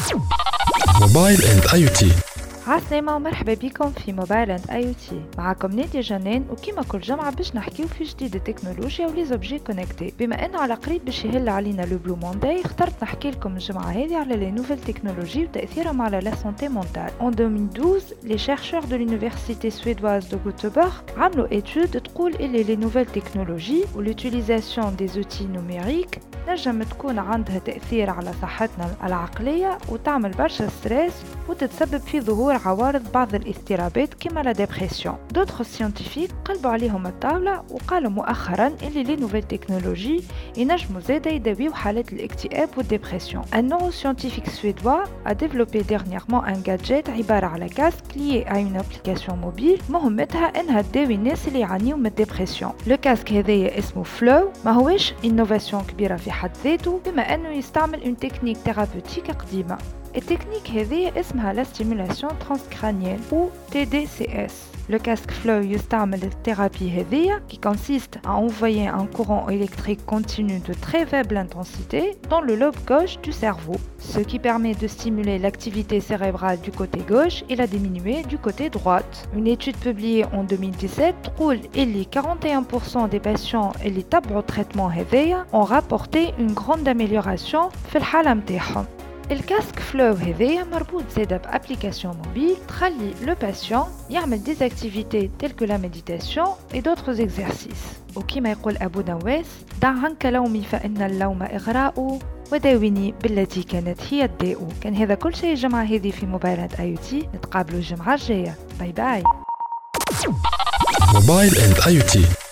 موبايل اند اي تي. عسلامة ومرحبا بكم في موبايل اند اي تي. معكم نادية جنان، وكما كل جمعة باش نحكيو في جديد التكنولوجيا ولي زوبجي كونكتي. بما انه على قريب باش يهل علينا لو بلو مونداي، اخترت نحكي لكم الجمعة هذه على لي نوفيل تكنولوجي وتأثيرهم على لا سونتي مونتال. En 2012 les chercheurs de l'université suédoise de Göteborg عملوا étude تقول اللي les nouvelles technologies و l'utilisation des outils numériques نجم تكون عندها تأثير على صحتنا العقلية وتعمل برشا ستريس وتتسبب في ظهور عوارض بعض الاضطرابات كما لا ديبرسيون. دوتر سيانتيفيك قلبوا عليهم الطاولة وقالوا مؤخرا اللي لي نوفيل تكنولوجي ينجموا زادا يداويو حالات الاكتئاب والديبرسيون. Un neuroscientifique suédois a développé dernièrement un gadget عبارة على كاسك lié à une application mobile مهمتها انها تداوي الناس اللي يعانيوا من الديبرسيون. لو كاسك هذايا اسمه فلو، ما هوش انوفاسيون كبيرة في حد ذاته بما انه يستعمل اون تكنيك ثيرابوتيك قديمة. التكنيك هذه اسمها لا ستيمولاسيون ترانسكرانيال ou TDCS. Le casque Flow يستعمل الثيرابي هذه qui consiste à envoyer un courant électrique continu de très faible intensité dans le lobe gauche du cerveau, ce qui permet de stimuler l'activité cérébrale du côté gauche et la diminuer du côté droite. Une étude publiée en 2017 تقول اللي 41% des patients اللي تبعوا التريتمون هذايا ont rapporté une grande amélioration في الحالة متاعهم. الكاسك فلو هذايا مربوط زادا بابليكاسيون موبيل تخلي لو باسيون يعمل ديز اكتيفيتي تيل كو لا ميديتاسيون اي دوتر اكزرسيس. وكما يقول ابو نواس: دع عنك لومي فان اللوم اغراء وداويني بالتي كانت هي الداء. كان هذا كل شيء الجمعه هذه في موبايلات اي تي. نتقابلوا الجمعه الجايه. باي باي. موبايل اند اي تي.